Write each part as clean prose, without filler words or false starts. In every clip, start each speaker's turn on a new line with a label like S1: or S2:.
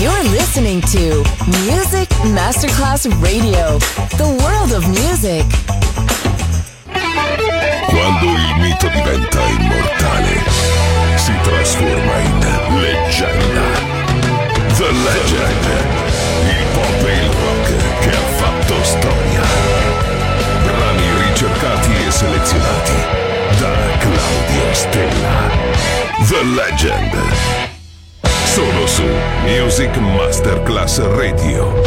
S1: You're listening to Music Masterclass Radio, the world of music.
S2: Quando il mito diventa immortale, si trasforma in leggenda. The Legend, il pop e il rock che ha fatto storia. Brani ricercati e selezionati da Claudio Stella. The Legend. Solo su Music Masterclass Radio.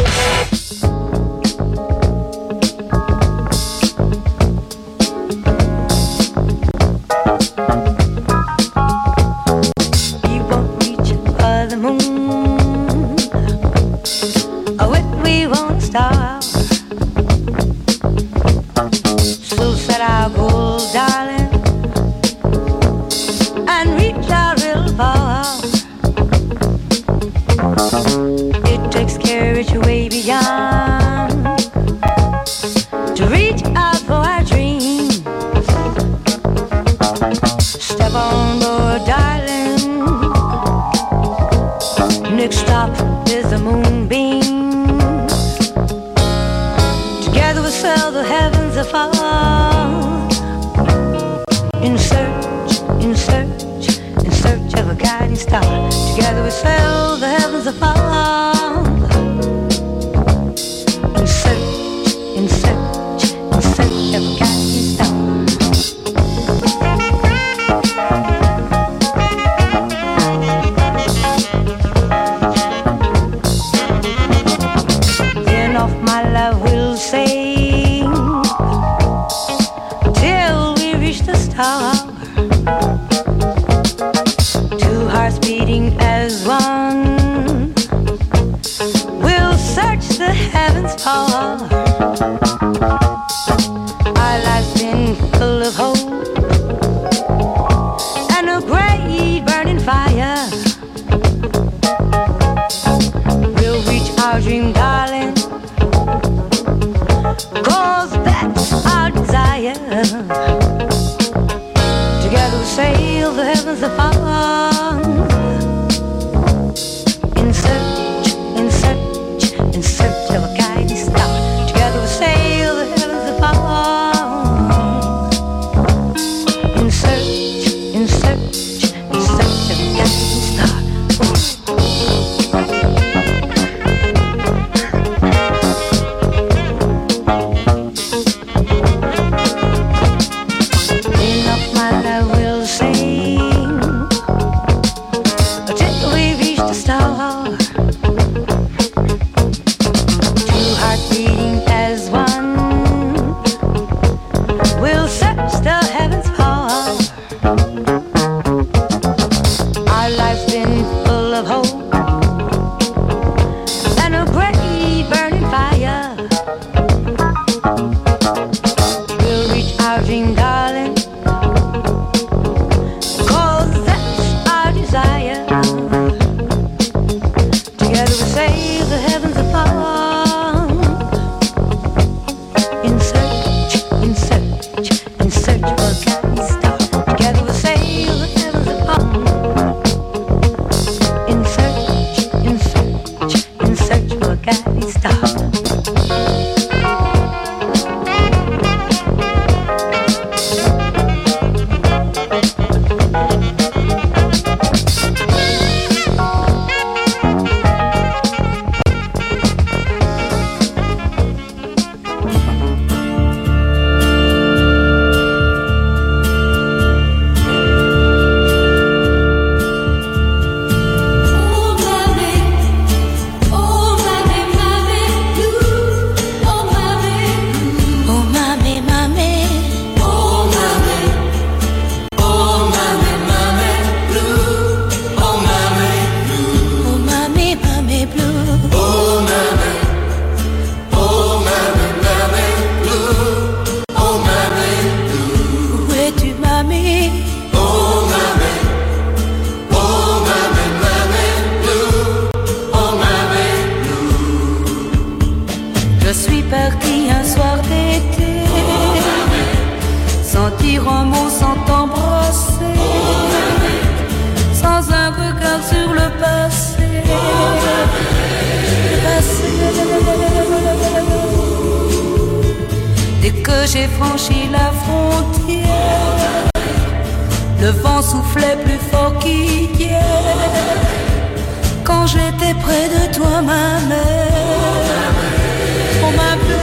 S3: que j'ai franchi la frontière, le vent soufflait plus fort qu'hier. Quand j'étais près de toi, ma mère, oh ma mère.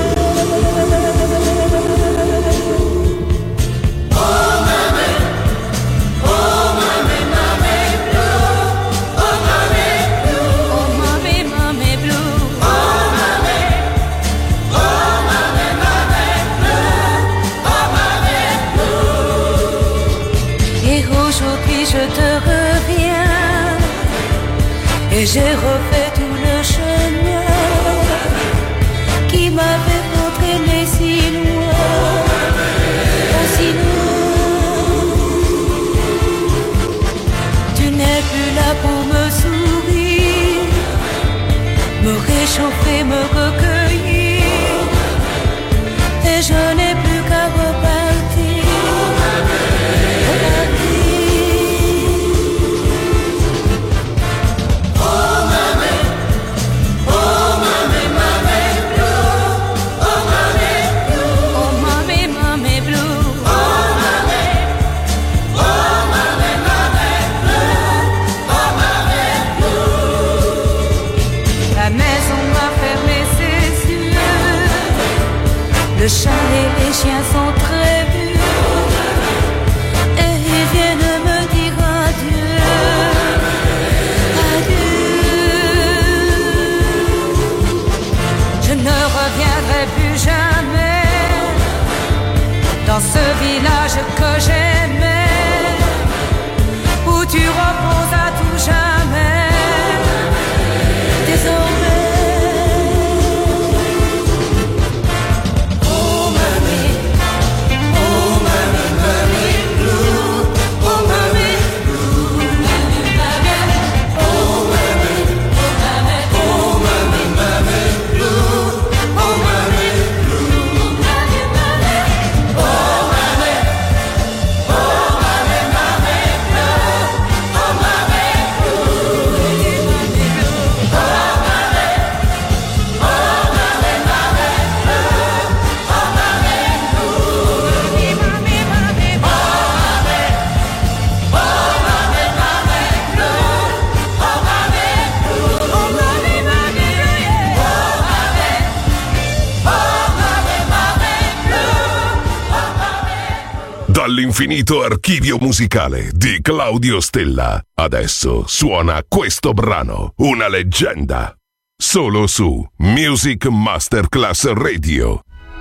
S3: Je te reviens et j'ai refait tout le chemin qui m'avait entraîné si loin, si loin. Tu n'es plus là pour me sourire, me réchauffer, me recueillir, et je n'ai plus qu'à repartir. Le chat et les chiens sont très vieux et ils viennent me dire adieu, adieu. Je ne reviendrai plus jamais dans ce village que j'aimais, où tu reposes à tout jamais. Désormais
S2: Dall'infinito archivio musicale di Claudio Stella, adesso suona questo brano, una leggenda, solo su Music Masterclass Radio.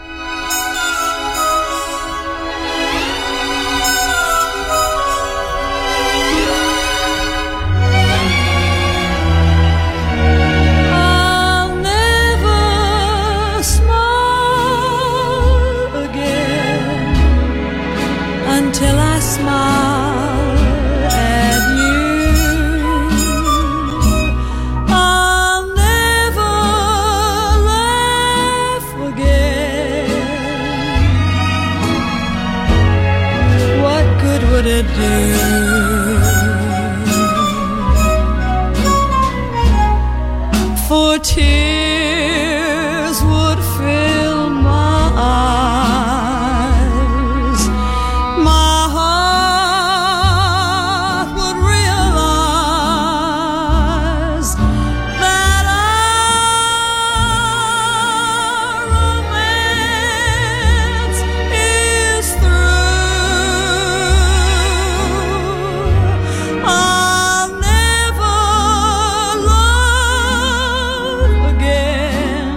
S3: Till I smile at you, I'll never laugh again. What good would it do? For tears would fill my eyes, my heart would realize that our romance is through. I'll never love again.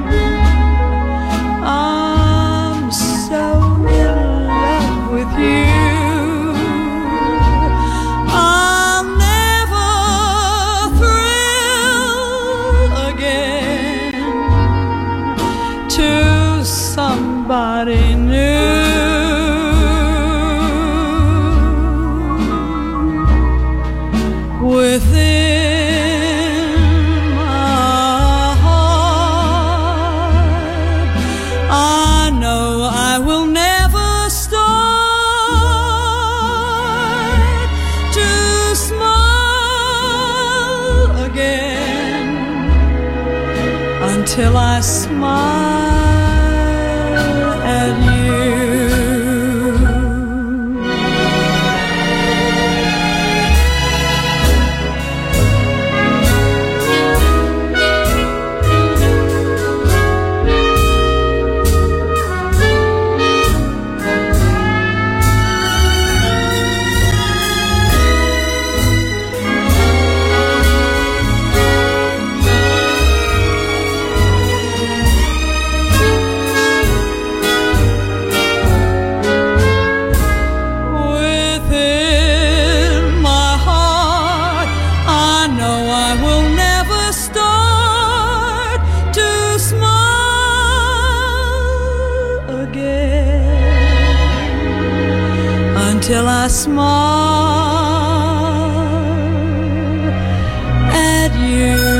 S3: I'm so in love with you. I'll never thrill again to somebody new. Within my heart, I know I will never start to smile again until I smile at you. till I smile at you.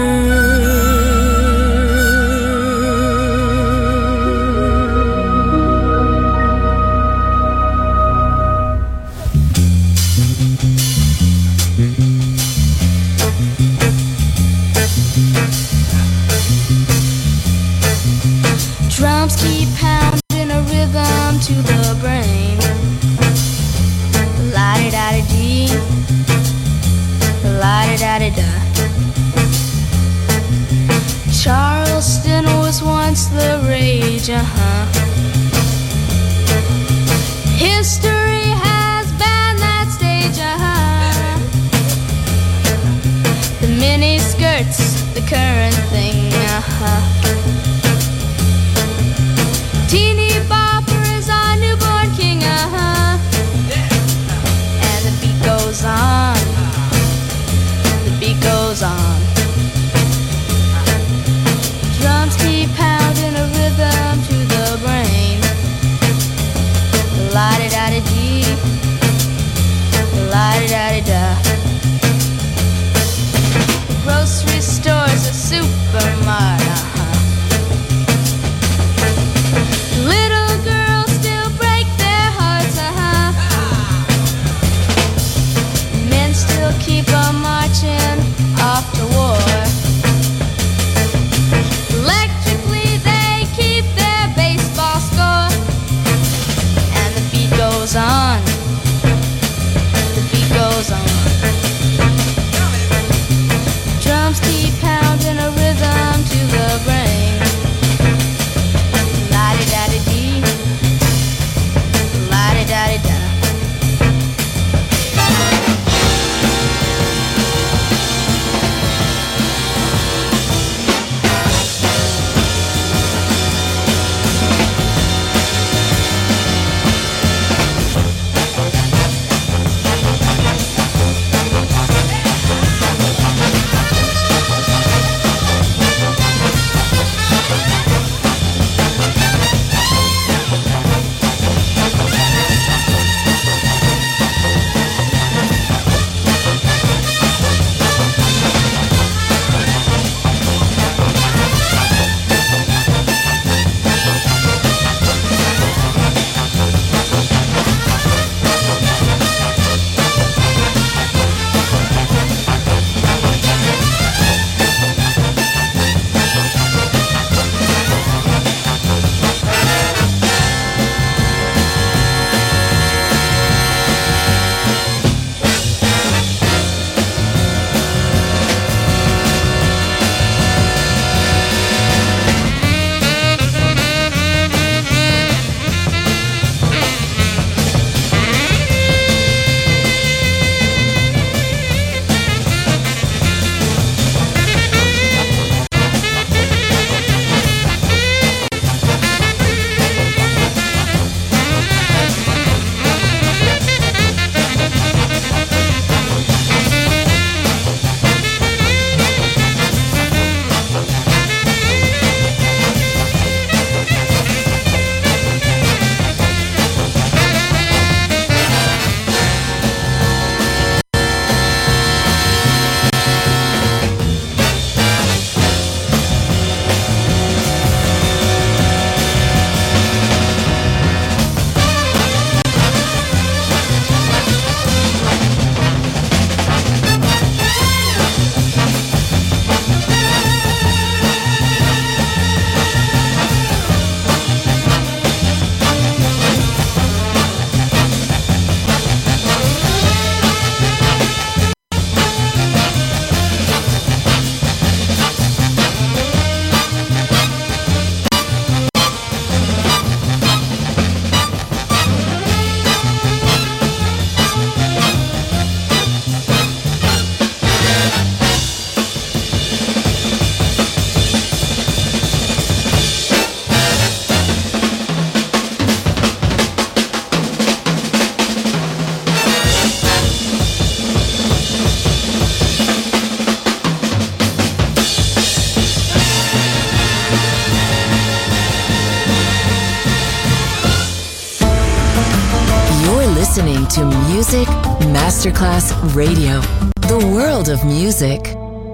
S4: Drums keep pounding a rhythm to the brain. La-di-da-di-dee, la-di-da-di-da. Charleston was once the rage, History has banned that stage, The mini skirts, the current thing, Teeny bopper is our newborn king, And the beat goes on, the beat goes on. Drums keep pounding a rhythm to the brain. La-di-da-di-dee, la-di-da-di-da. Grocery stores, a supermarket, Little girls still break their hearts, Men still keep on marching off to war. Electrically they keep their baseball score. And the beat goes on, the beat goes on. Drums keep pounding a rhythm to the brain. La-di-da-di-dee, la-di-da-di-da.
S1: Music Masterclass Radio. The world of music.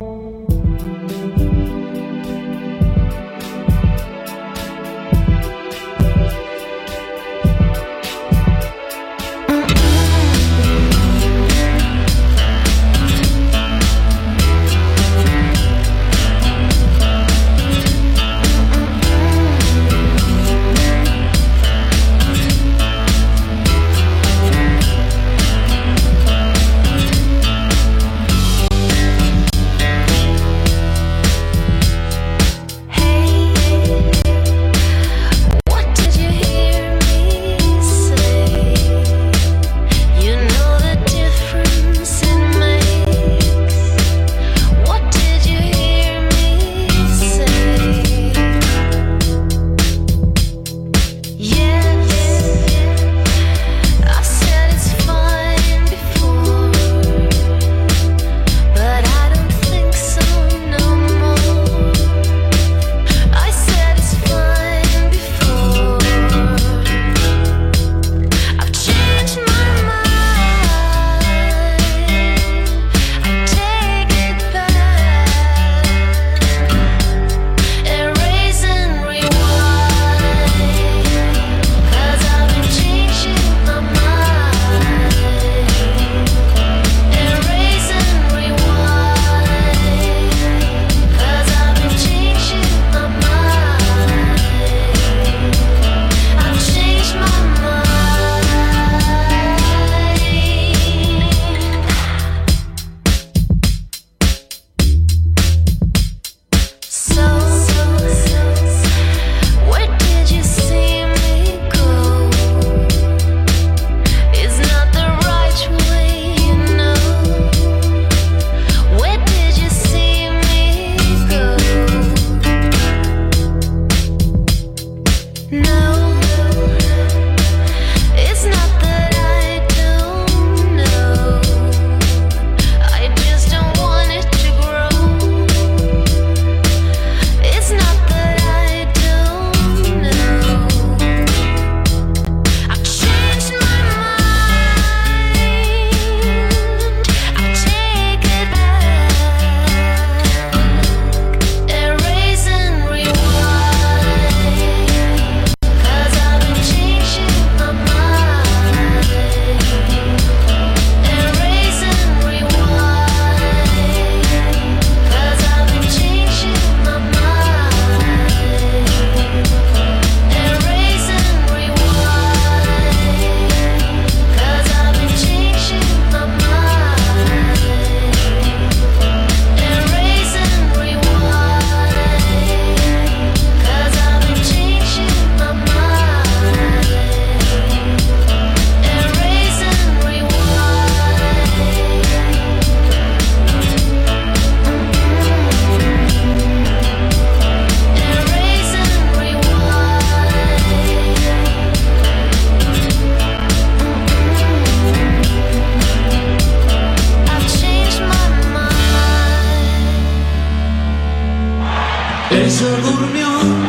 S5: Ella durmió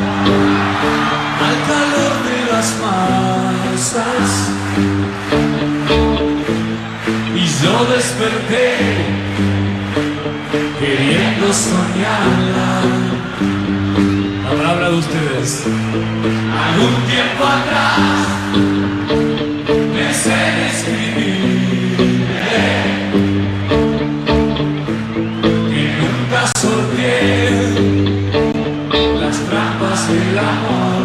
S5: al calor de las masas y yo desperté queriendo soñarla. La palabra de ustedes. Algún tiempo atrás me sé escribir que nunca sorteé las trampas del amor.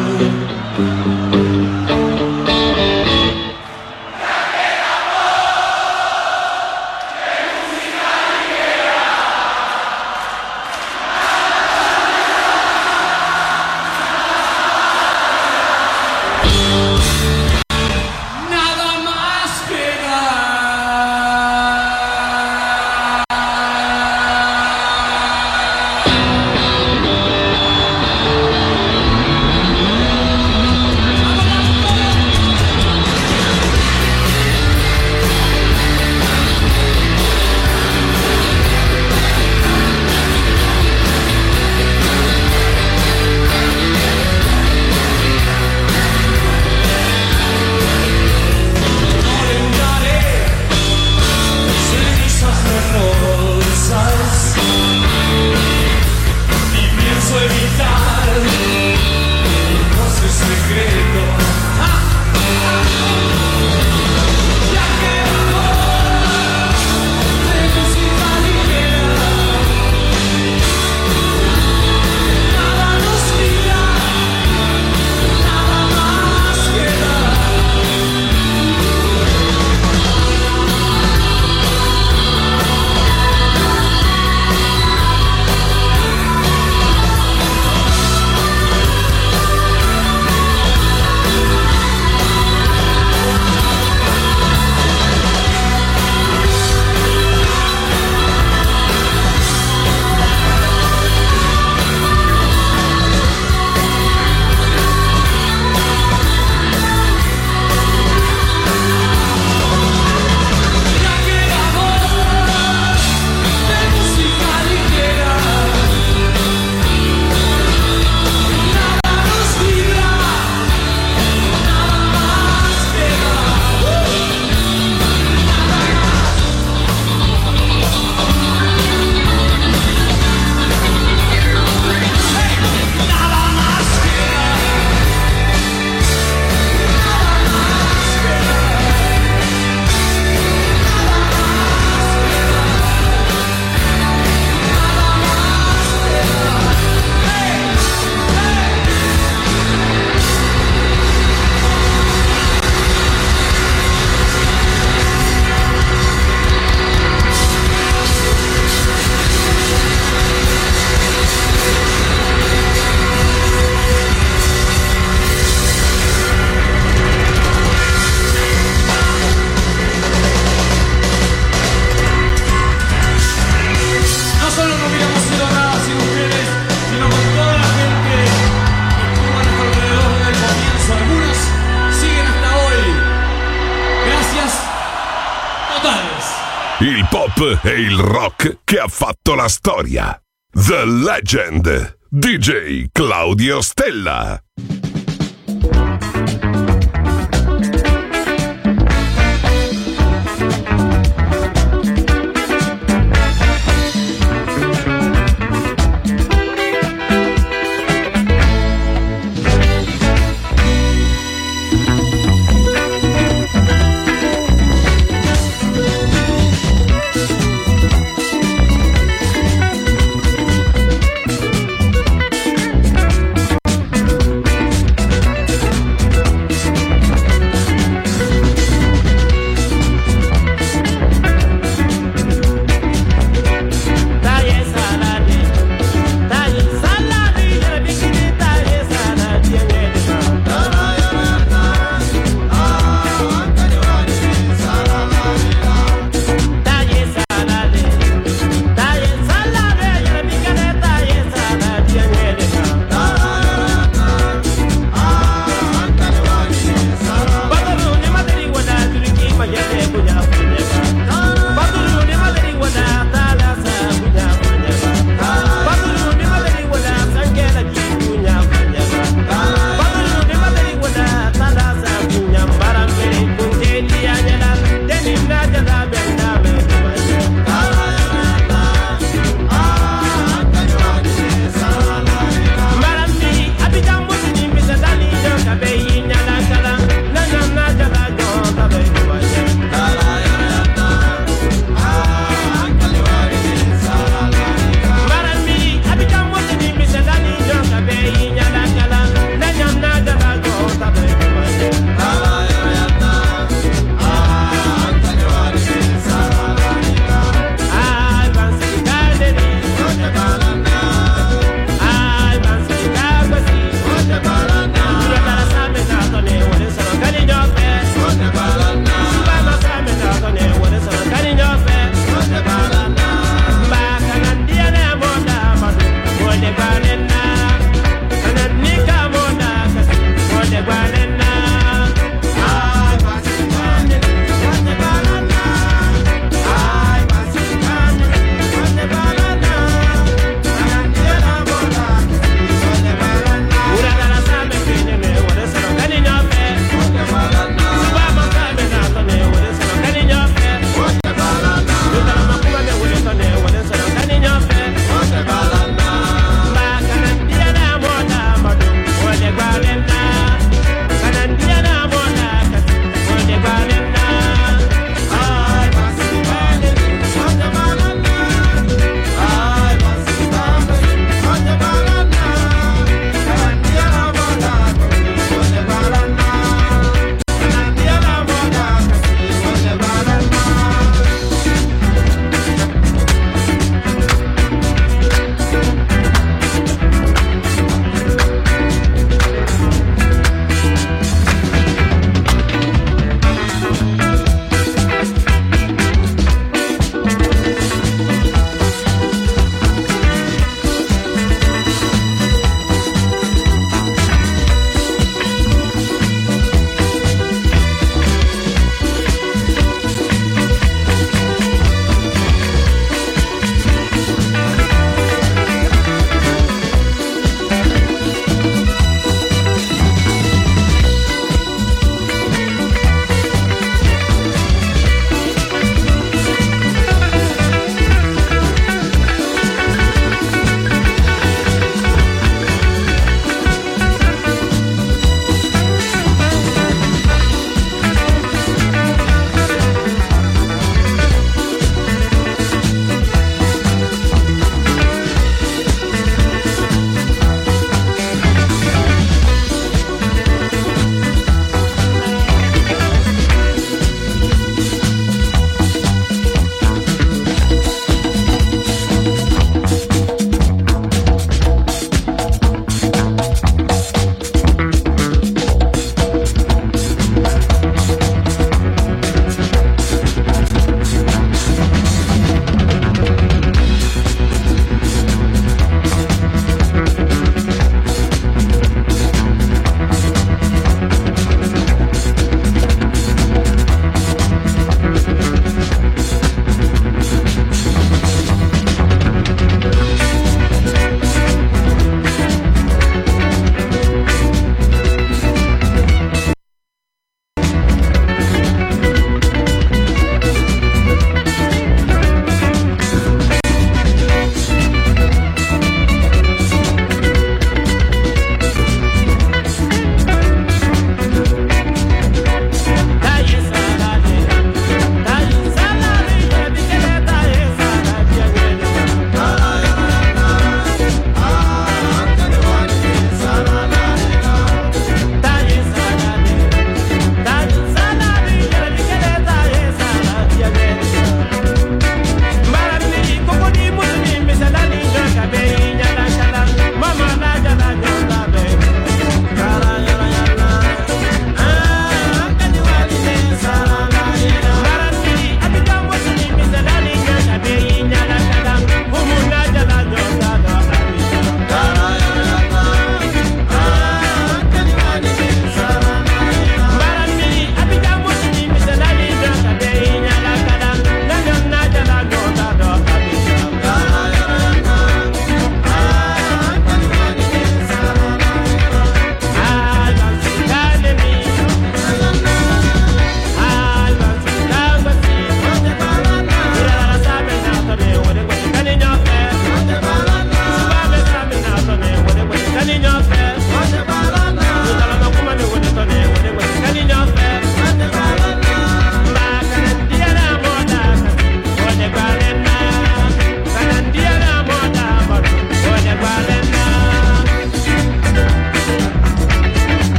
S2: pop e il rock che ha fatto la storia. The Legend, DJ Claudio Stella.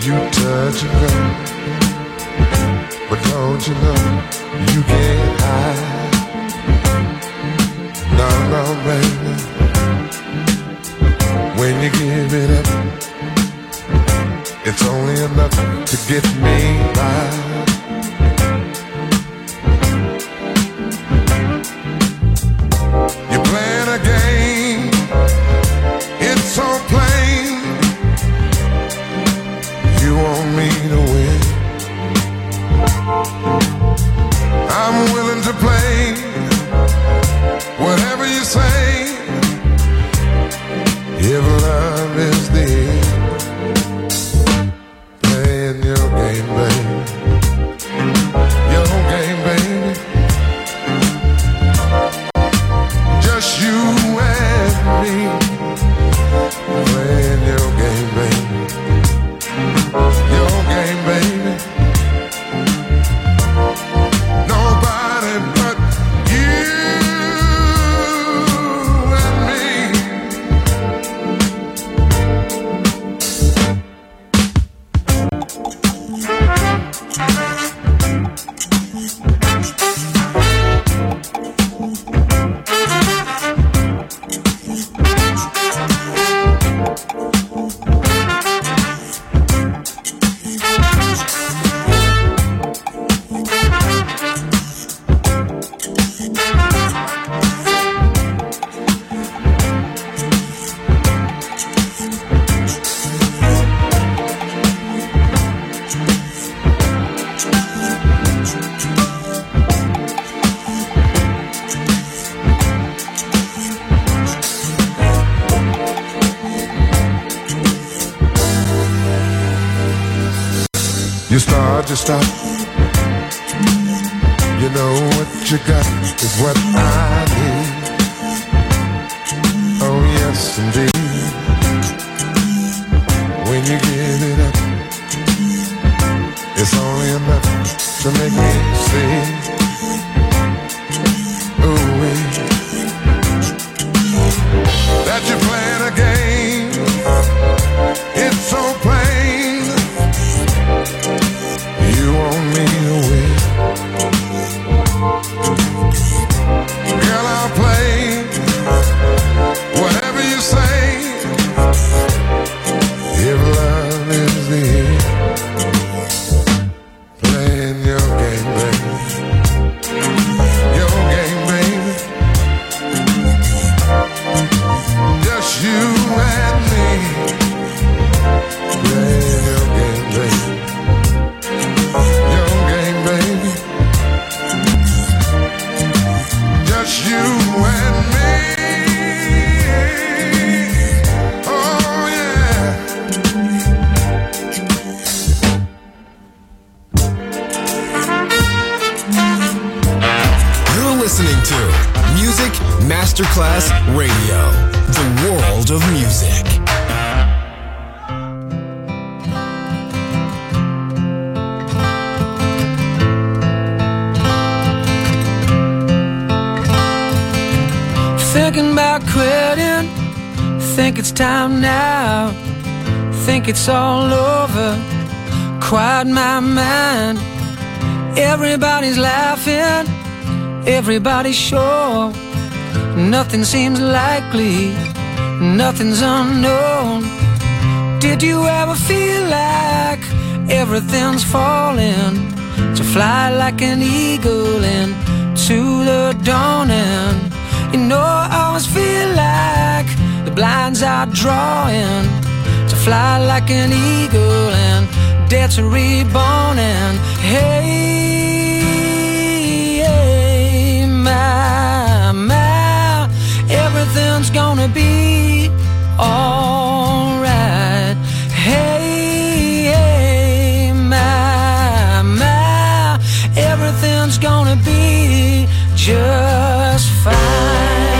S6: you touch and go. But don't you know you can't hide? No, no, baby. When you give it up, it's only enough to get me by. You're playing a game, it's so plain. You want me to win. I'm willing to play whatever you say. If love is the end, playing your game, baby. Your game, baby. Just you and me, playing your game, baby. Your game, baby. Nobody but you and me. You start to stop. You know what you got is what I need. Oh yes indeed. When you give it up, it's only enough to make me see. Ooh wee. That you're playing a game, it's so plain. You want me to win. Girl, I'll play whatever you say. If love is the end, playing your game, baby. Your game, baby. Just you and me, playing your game, baby. Your game, baby. Just you and me. Oh yeah.
S7: You're listening to Music Masterclass Radio, the world of music.
S8: Thinking about quitting, think it's time now. Think it's all over, quiet my mind. Everybody's laughing, everybody's sure. Nothing seems likely, nothing's unknown. Did you ever feel like everything's falling? To fly like an eagle into the dawning. You know I always feel like the blinds are drawing. To fly like an eagle and dare to reborn. And hey, hey, my, everything's gonna be alright. Hey, hey, my, everything's gonna be just fine.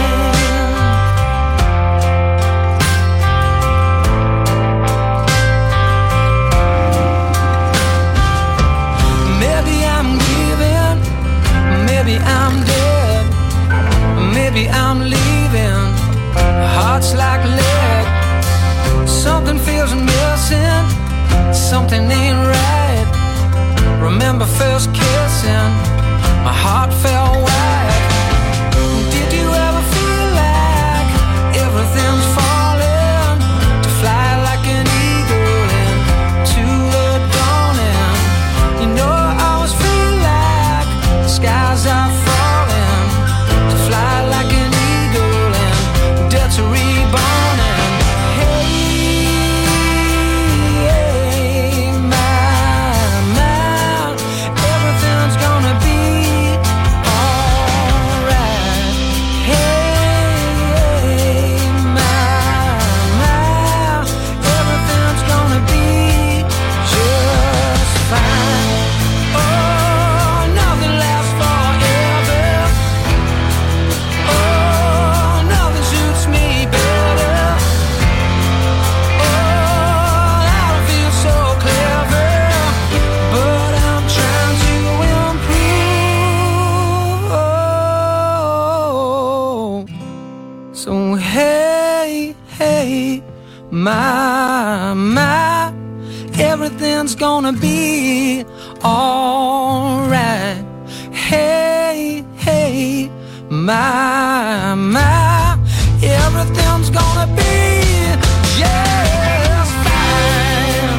S8: Maybe I'm dead, maybe I'm leaving. Heart's like lead, something feels missing, something something ain't right. Remember first kissing, my heart fell wide. Did you ever feel like everything's falling? To fly like an eagle into the dawning. You know I always feel like the skies are falling. To fly like an eagle and death to reborn. And hey, my, everything's gonna be alright. Hey, my, everything's gonna be just fine. Oh, nothing lasts forever. Oh, nothing suits me better. Oh, I don't feel so clever, but I'm trying to improve. So hey, my, everything's gonna be alright. Hey, my, everything's gonna be just fine.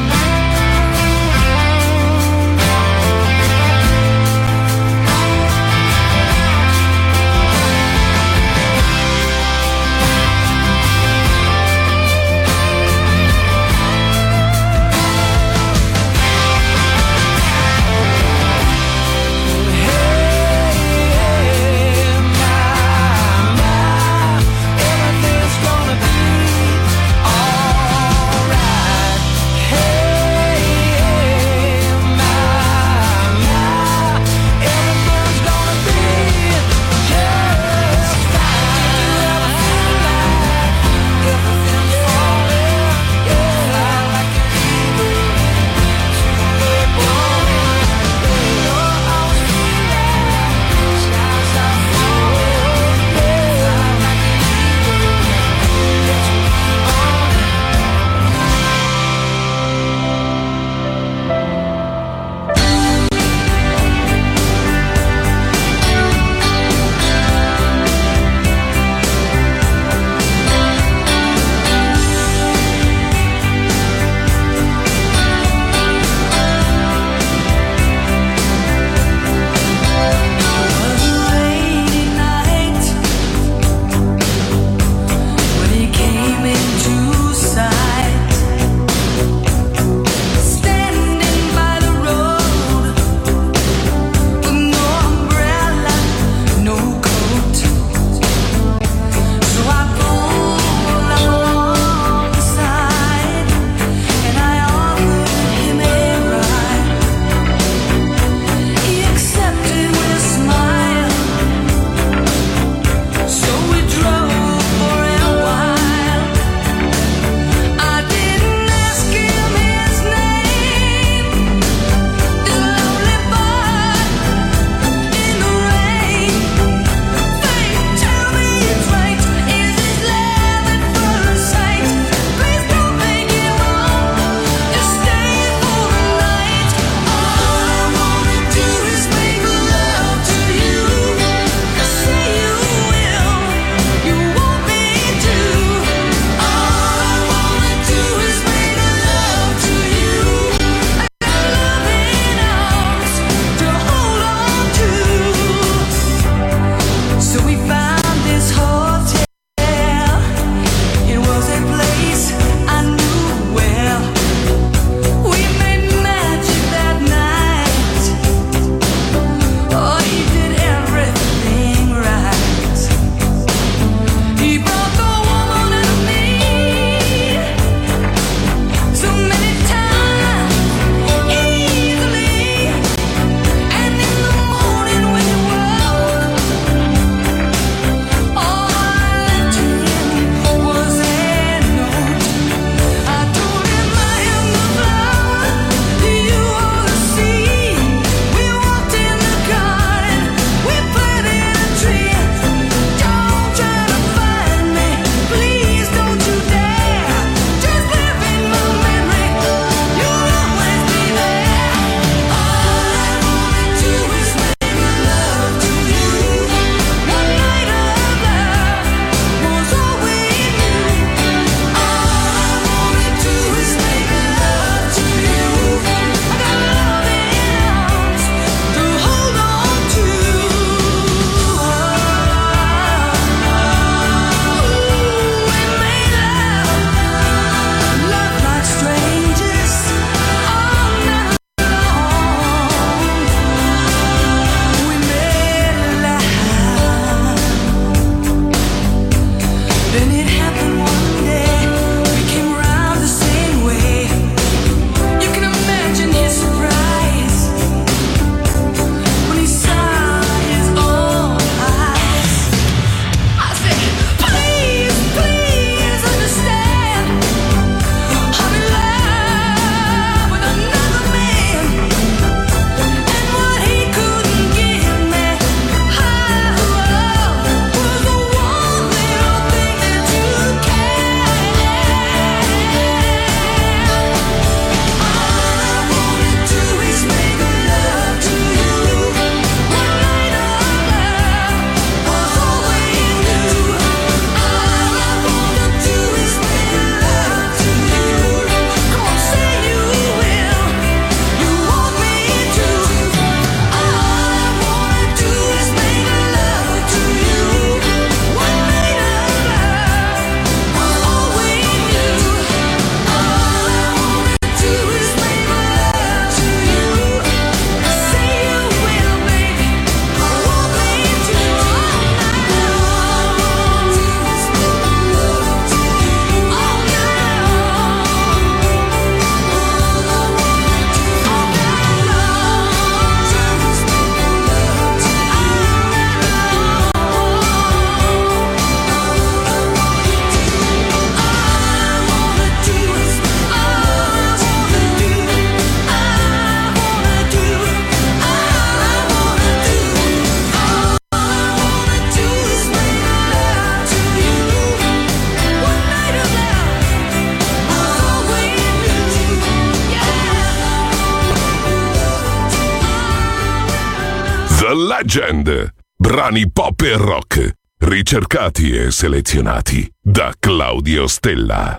S8: Everything's gonna be
S2: The Legend. Brani pop e rock, ricercati e selezionati da Claudio Stella.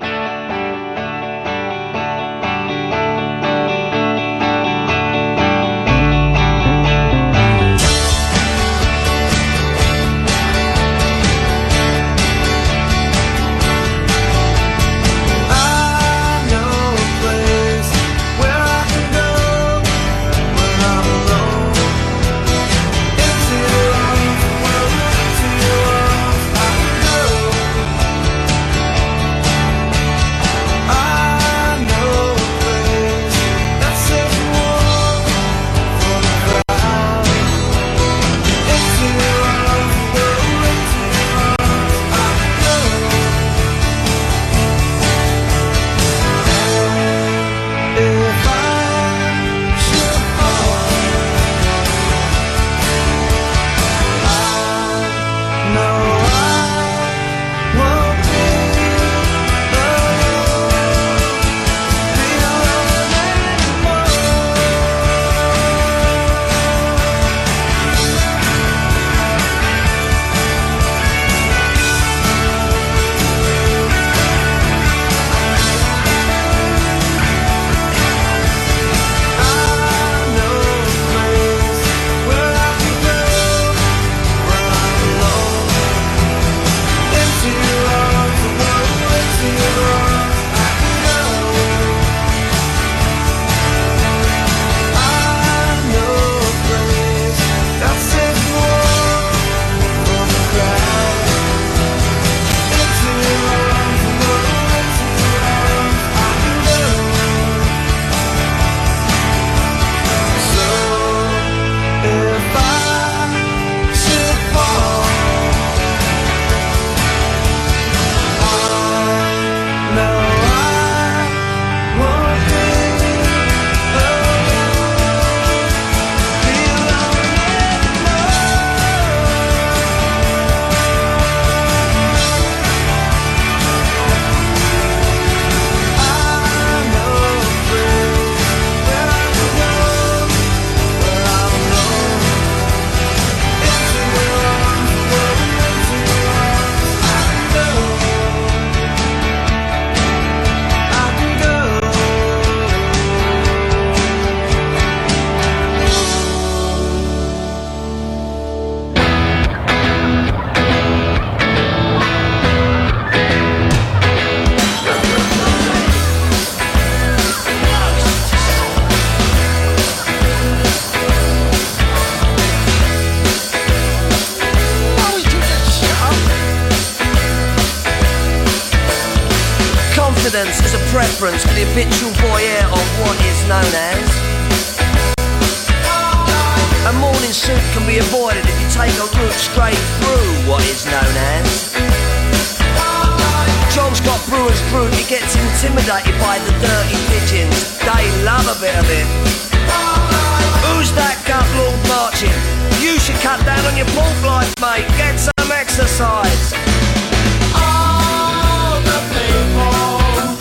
S9: Is a preference for the habitual voyeur of what is known as. A morning suit can be avoided if you take a route straight through what is known as. John's got brewer's fruit, he gets intimidated by the dirty pigeons. They love a bit of it. Who's that gut lord marching? You should cut down on your pork life, mate. Get some exercise. All the people.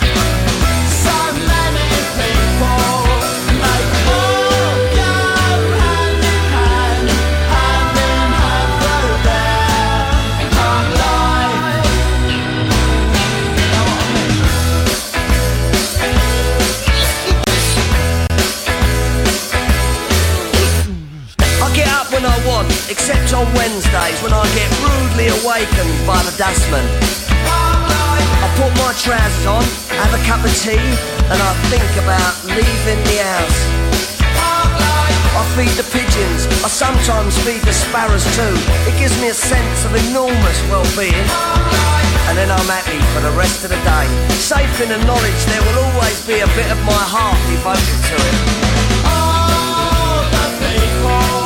S9: Except on Wednesdays when I get rudely awakened by the dustman. I put my trousers on, have a cup of tea, and I think about leaving the house. I feed the pigeons, I sometimes feed the sparrows too. It gives me a sense of enormous well-being. And then I'm happy for the rest of the day, safe in the knowledge there will always be a bit of my heart devoted to it. All the people.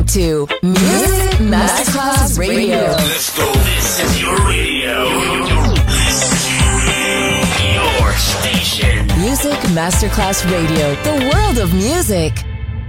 S1: to Music Masterclass Radio.
S5: Let's go. This is your radio. Your station.
S1: Music Masterclass Radio. The world of music.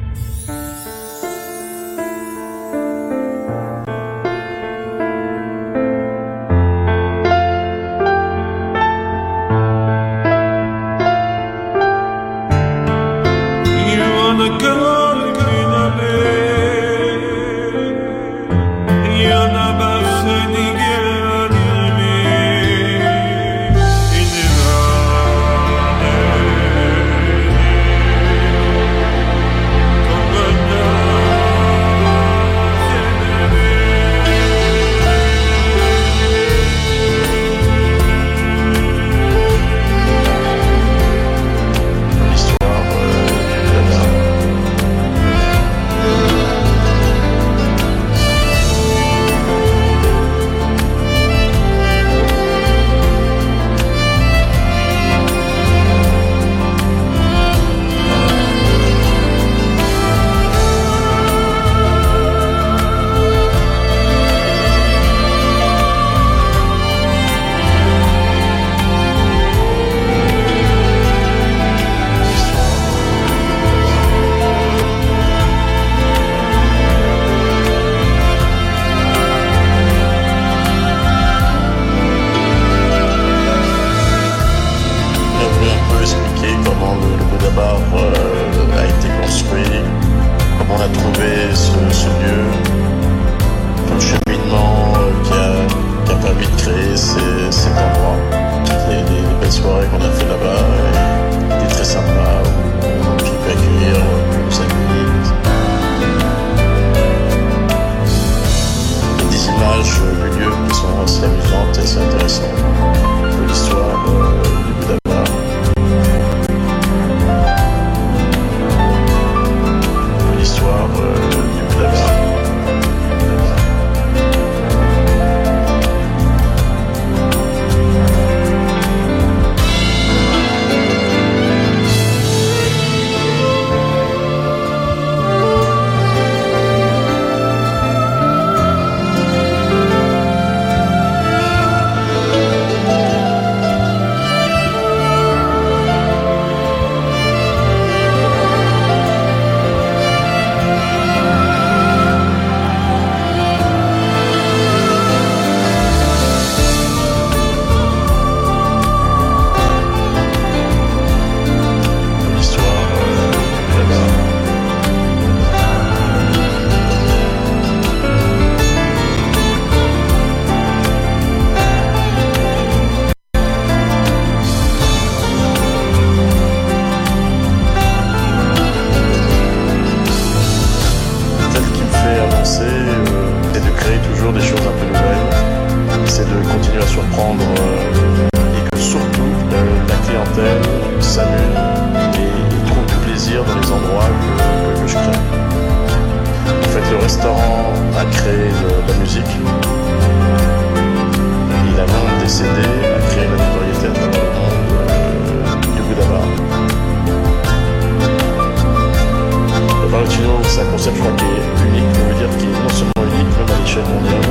S10: C'est un concept, je crois, qui est unique, on veut dire, qui est non seulement unique, même à l'échelle mondiale.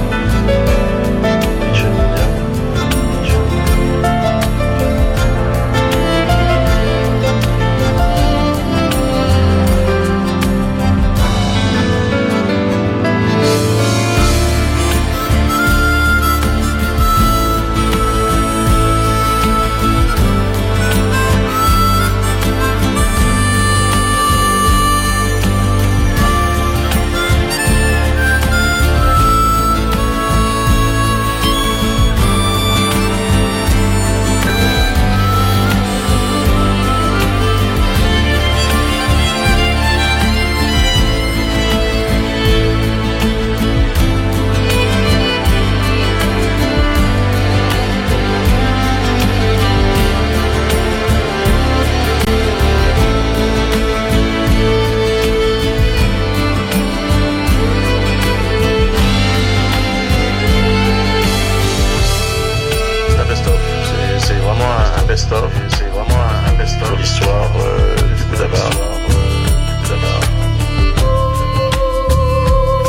S10: best-of, c'est vraiment un best-of de l'histoire du Bouddha Bar.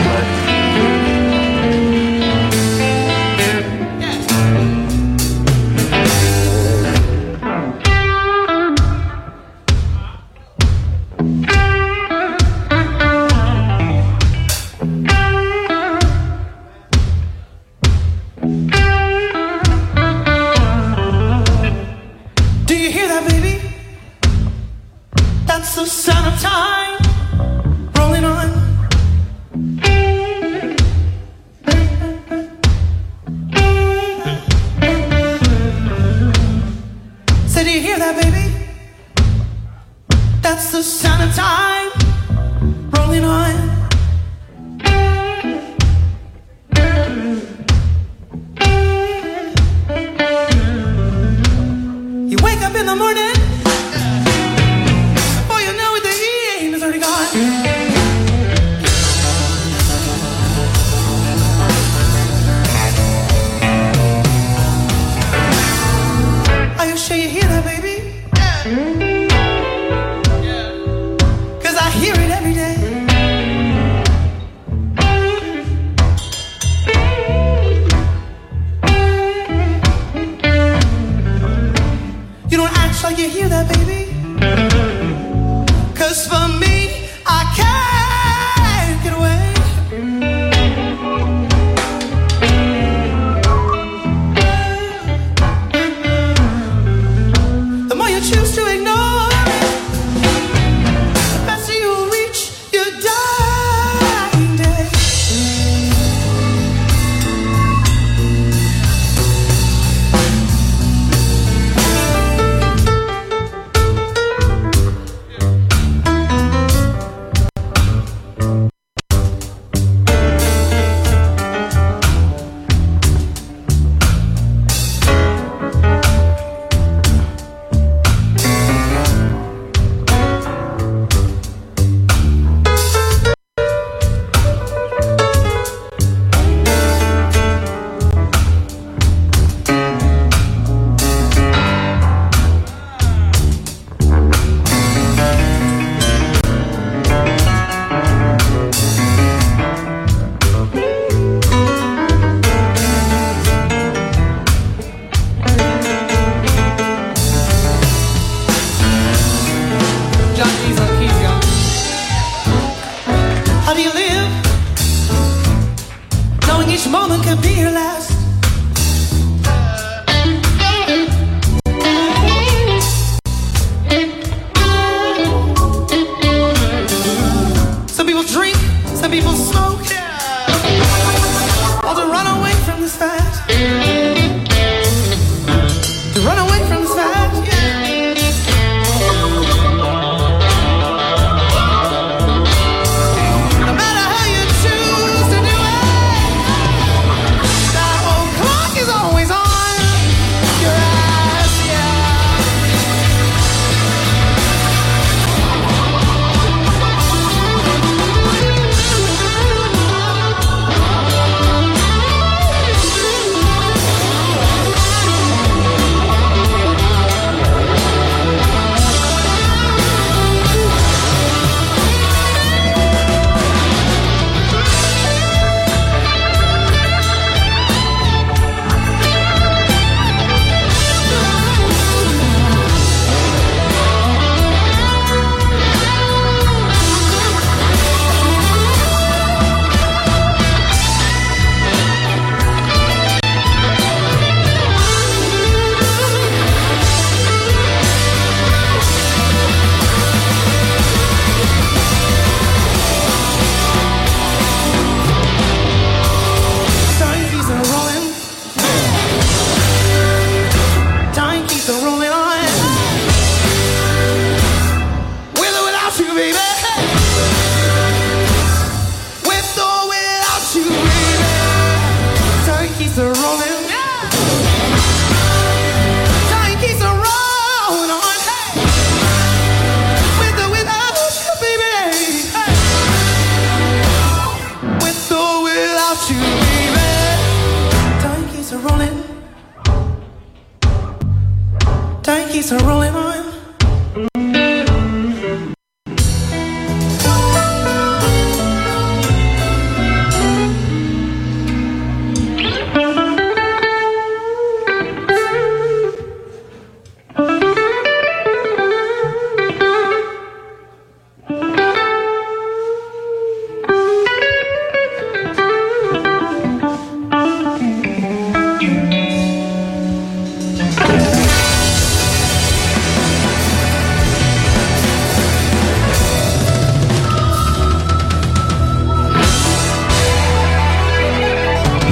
S11: keeps on rolling on.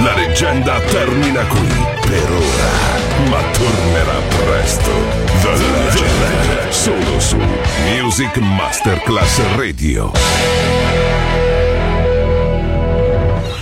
S2: La leggenda termina qui per ora, ma tornerà presto. The Legend, solo su Music Masterclass Radio.